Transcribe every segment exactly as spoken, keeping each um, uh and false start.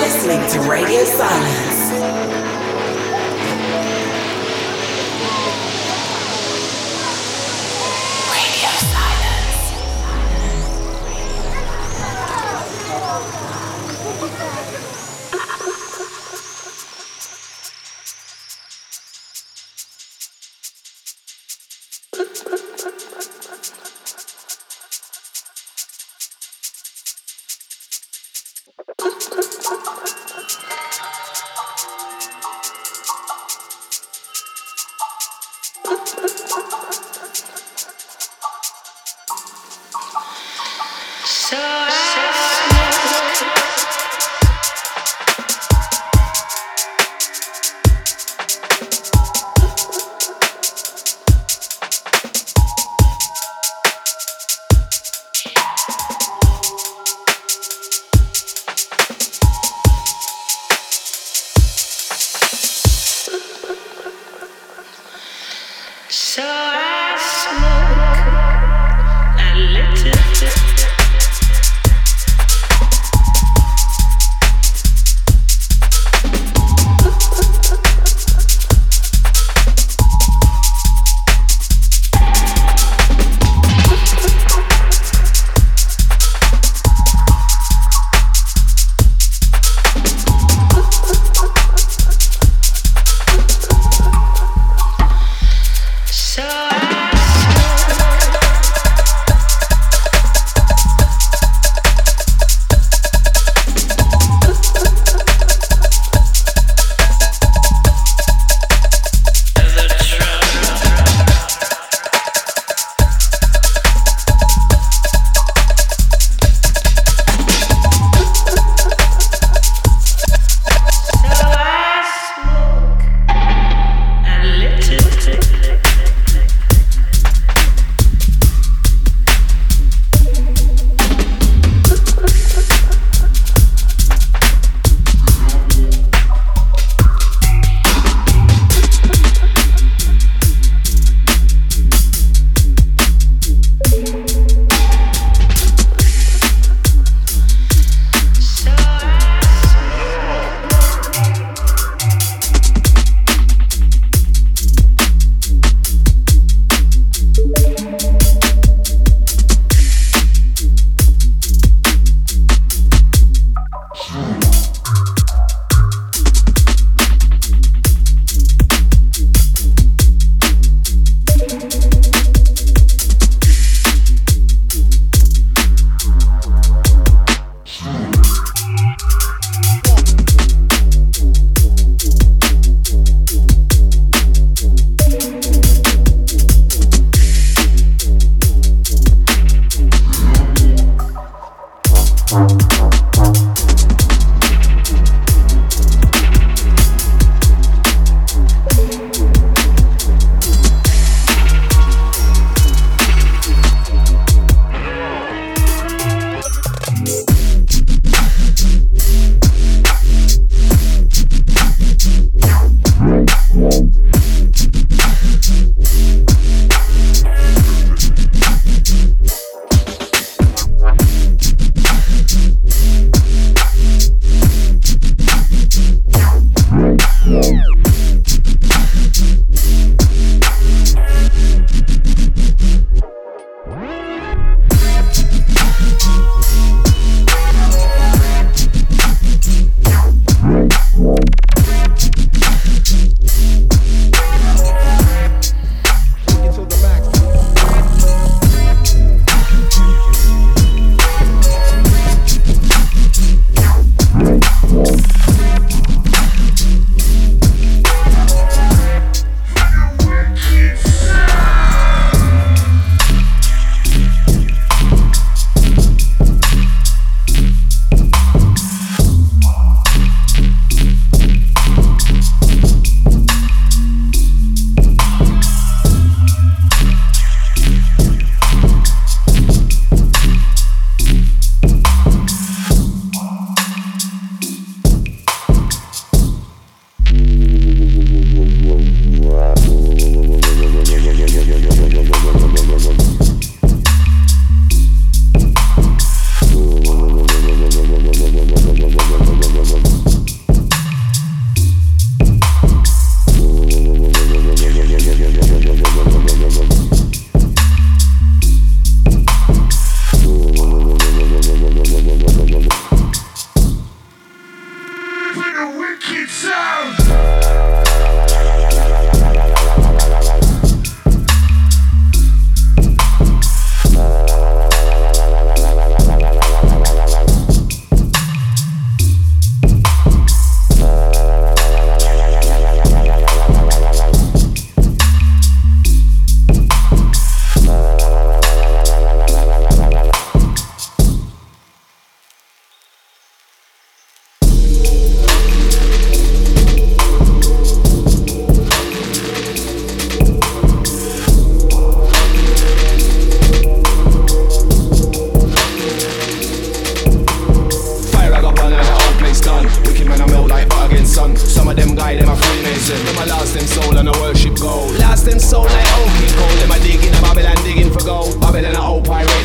listening to Radio Silence.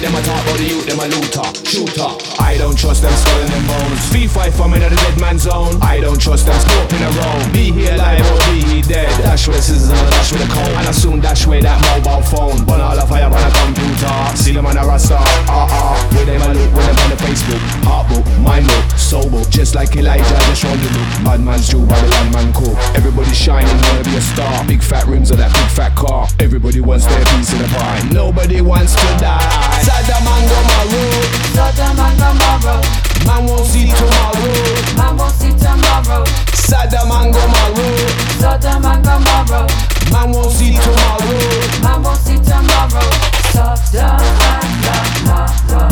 them a talk about the youth, them a looter, shooter. I don't trust them skull and them bones. Fee five for me in the dead man zone. I don't trust them scoping around. Be here alive or be he dead. Dash with scissors and a dash with a comb. And I soon dash with that mobile phone. Burn all the fire on a computer. See them on a rasta, ah ah. With them a look, with them on the Facebook. Heart book, mind book, soul book. Just like Elijah, just round the look. Bad man's Jew, Babylon man cook. Everybody shining, wanna be a star. Big fat rims of that big fat car. Everybody wants their piece of the pie. Nobody wants to die. Saddam and Gomorrah. Saddam and Gomorrah. Man won't see tomorrow. Man won't see tomorrow. Saddam and Gomorrah. Saddam and Gomorrah. Man won't see tomorrow. Man won't see tomorrow. Saddam and Gomorrah.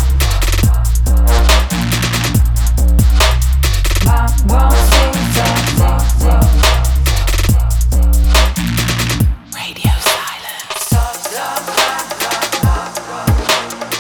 Man won't see tomorrow. Radio silence. Saddam and Gomorrah.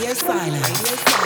Radio silence. Radio silence.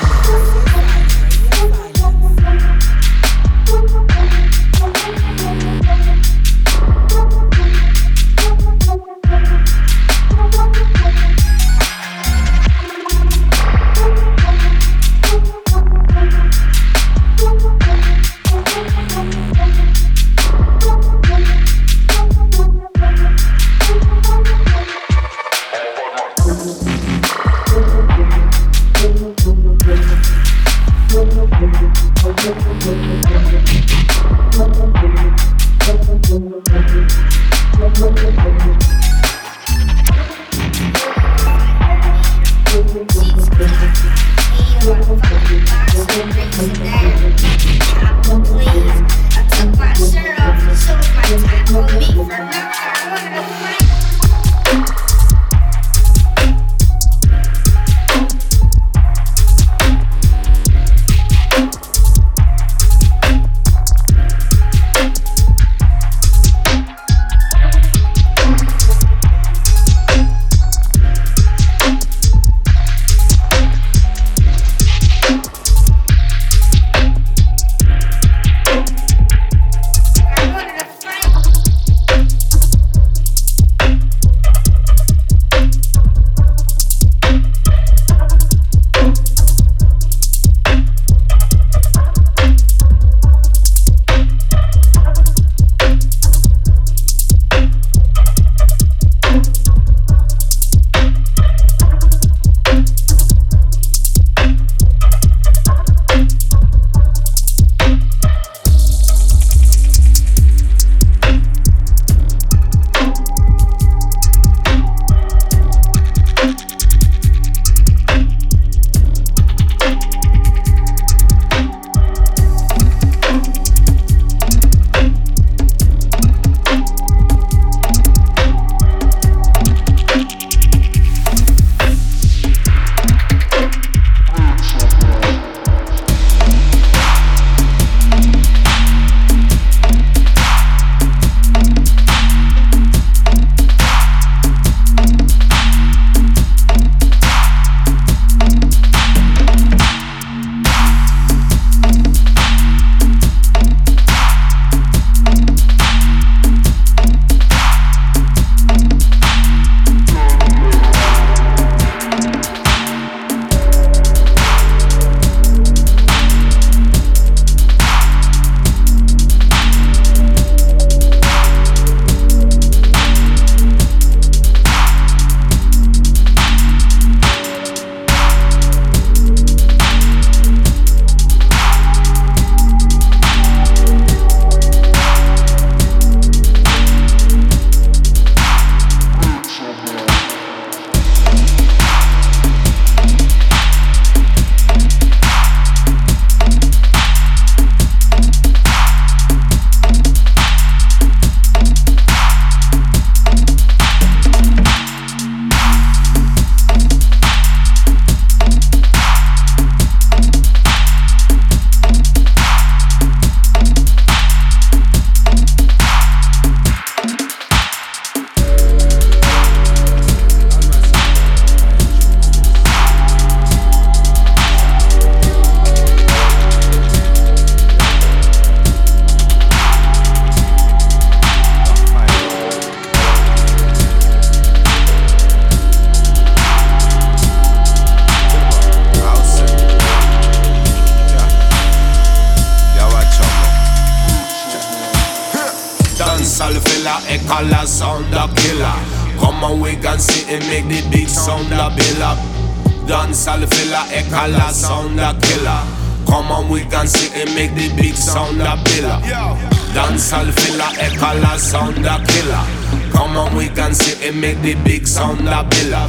color sound a killer. Come on, we can see it make the big sound a biller. Dance all filler, a color sound a killer. Come on, we can see it make the big sound a biller. Dance all filler, a color sound a killer. Come on, we can see it make the big sound a biller.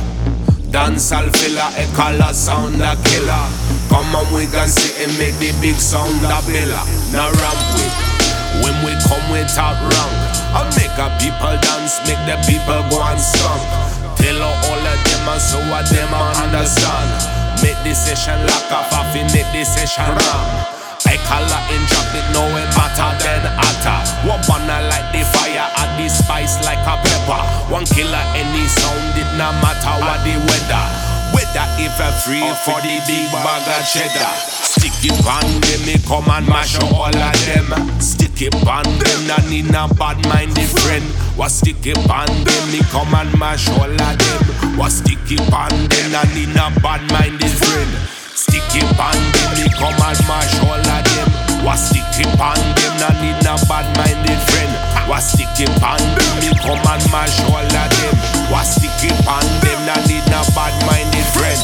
Dance all filler, a color sound a killer. Come on, we can see it make the big sound a biller. Now ramp with. When we come we talk wrong, I make a people dance, make the people go and song. Tell all of them and so what them understand. Make the session lock off, I fi make the session wrong. I call her in drop it, know it better than hotter. One burner like the fire, add the spice like a pepper. One killer any sound, it no matter what the weather. Whether better if I free for the big bag of cheddar. Stick it on them, me come and mash up all of them. Stick it on them, not need a bad-minded friend. Was stick it on them, me come and mash all of them. Was stick it on them, not need a bad-minded friend. Stick it on them, me come and mash all of them. Was stick it on them, not need a bad-minded friend. Was stick it on them, me come and mash all of them. Was stick it on them, not need a bad-minded friend.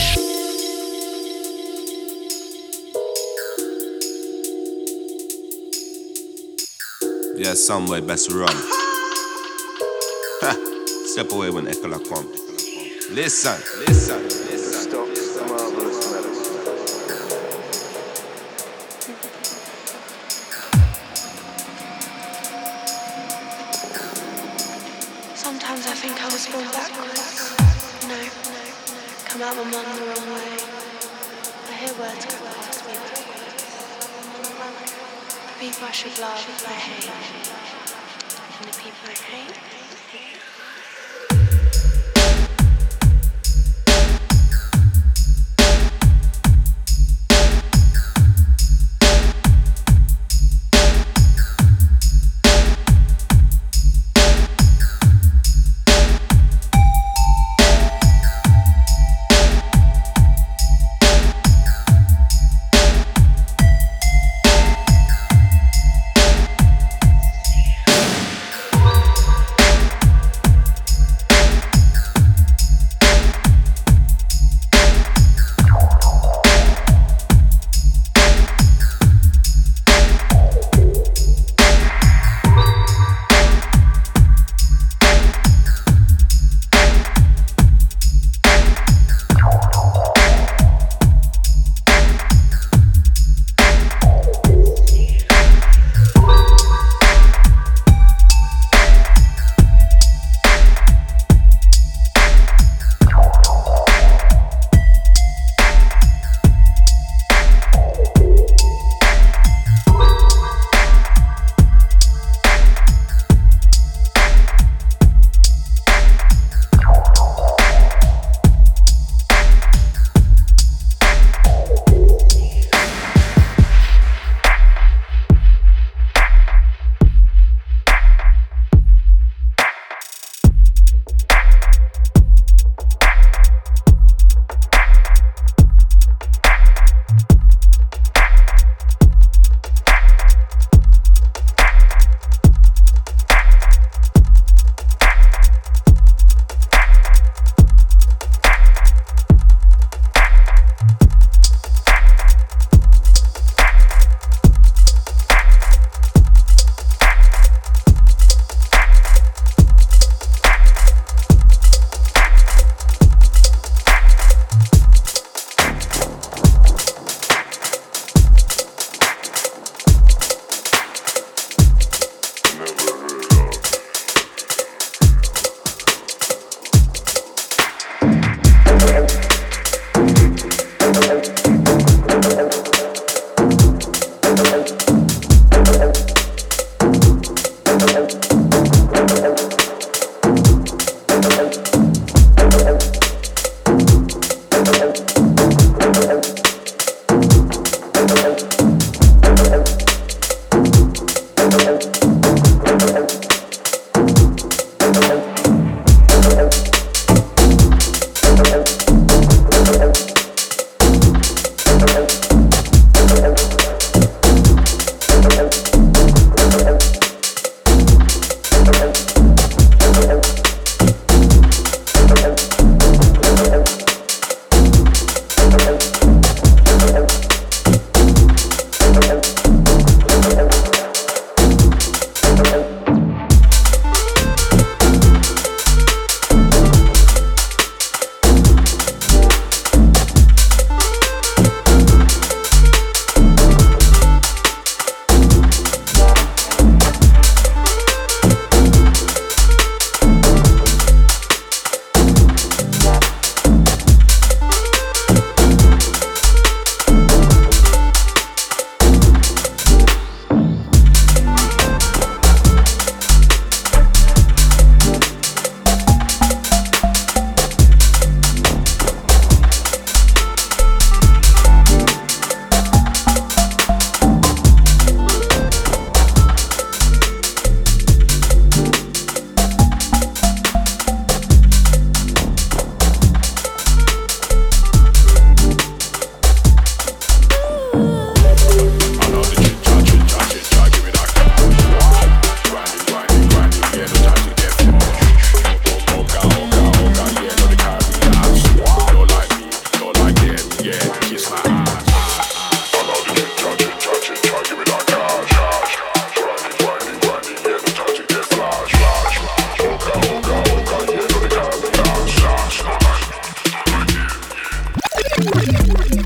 Yeah, somewhere best run. Ha! Step away when Echola come. Listen, listen, listen. Stop the marvelous melody. Sometimes I think I was born backwards. No, no, no. Come out my mum the wrong way. I hear words go past me backwards. The people I should love, I hate. And the people I hate, I hate.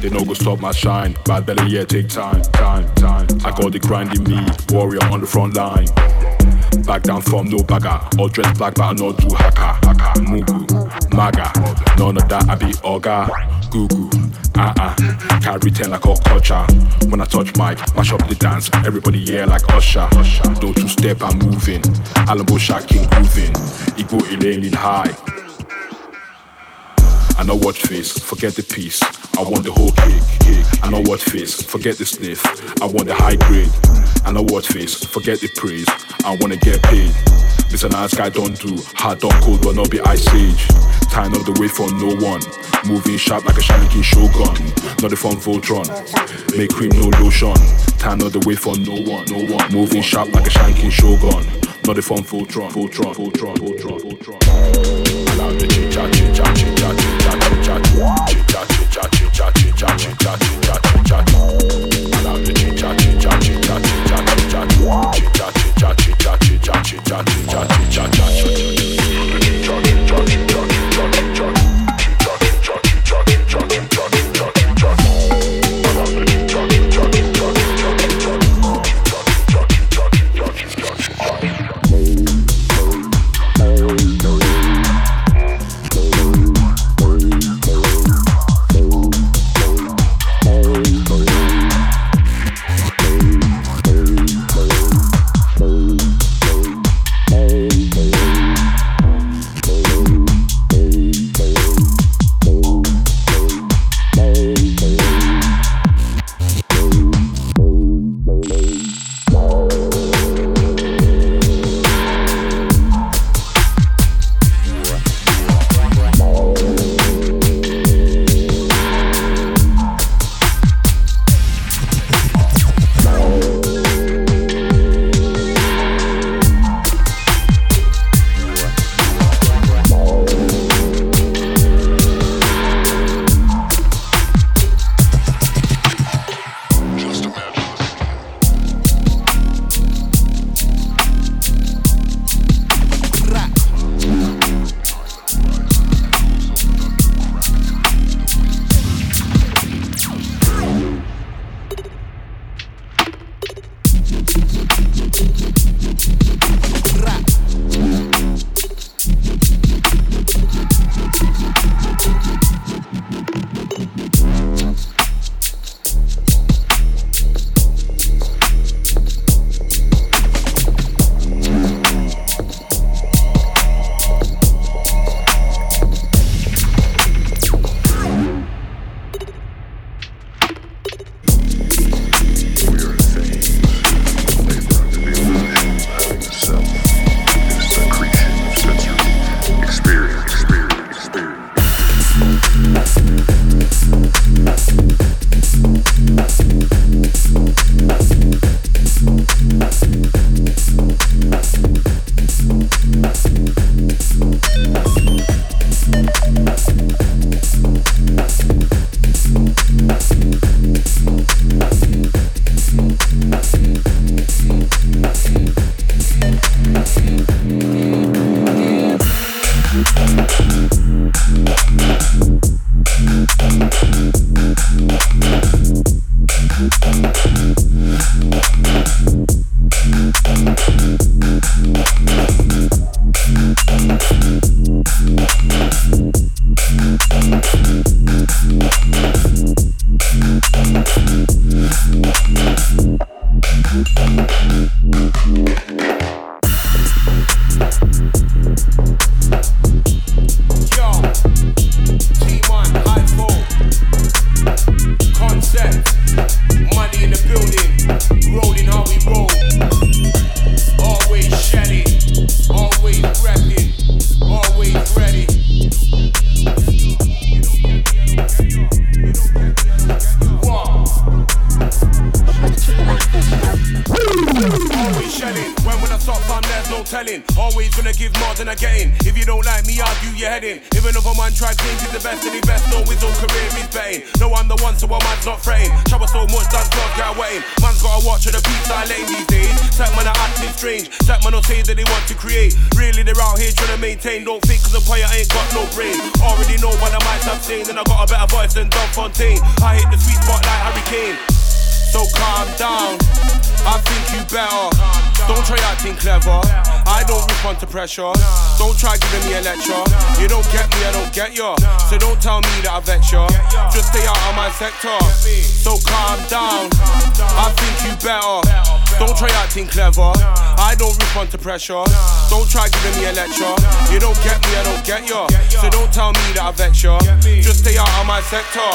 They no go stop my shine. Bad belly, yeah, take time, time, time. I got the grind in me, warrior on the front line. Back down from no bagger. All dressed black, but I not do haka. Mugu, maga. None of that, I be oga. Gugu, uh-uh. Carry ten like a culture. When I touch mic, mash up the dance. Everybody yeah like Usher. Don't two step, I'm moving. Alambo shaking, grooving. Igbo Elaine high. I know what face, forget the piece. I want the whole cake, cake. I know what face, forget the sniff. I want the high grade. I know what face, forget the praise. I wanna get paid. Mister Nice Guy don't do hard, don't cold, but not be ice age. Tying up the way for no one. Moving sharp like a Shanking Shogun. Not the fun Voltron. Make cream, no lotion. Tying up the way for no one, no one. Moving sharp like a Shanking Shogun. Not the fun Voltron, Voltron, Voltron, Voltron, Voltron. Allow the chicha, chicha, chicha, chicha, chicha, chicha, chicha, chicha, chicha, chicha, chicha, chicha. Allow the chicha, chicha, chicha, chicha, chicha, chicha, chicha, chicha, chicha, chicha, chicha, chicha, Don't think cause the player ain't got no brain. Already know by the mic twice I've seen, and I got a better voice than Don Fontaine. I hit the sweet spot like Harry Kane. So calm down, I think you better. Don't try acting clever, I don't respond to pressure. Don't try giving me a lecture. You don't get me, I don't get ya. So don't tell me that I vex ya. Just stay out of my sector. So calm down, I think you better. Don't try acting clever, I don't respond to pressure. Don't try giving me a lecture. You don't get me, I don't get ya. So don't tell me that I vex ya. Just stay out of my sector.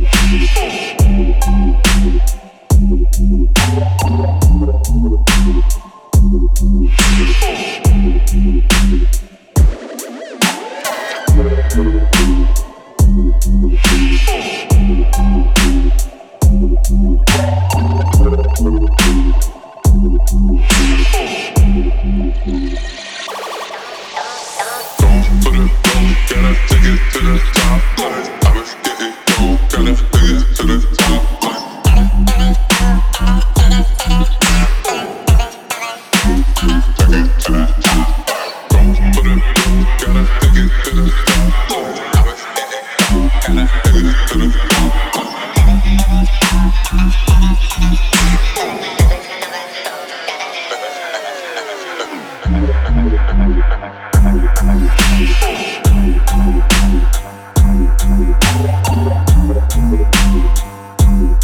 We'll be right back.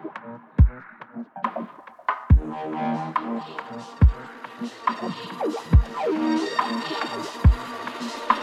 Thank you.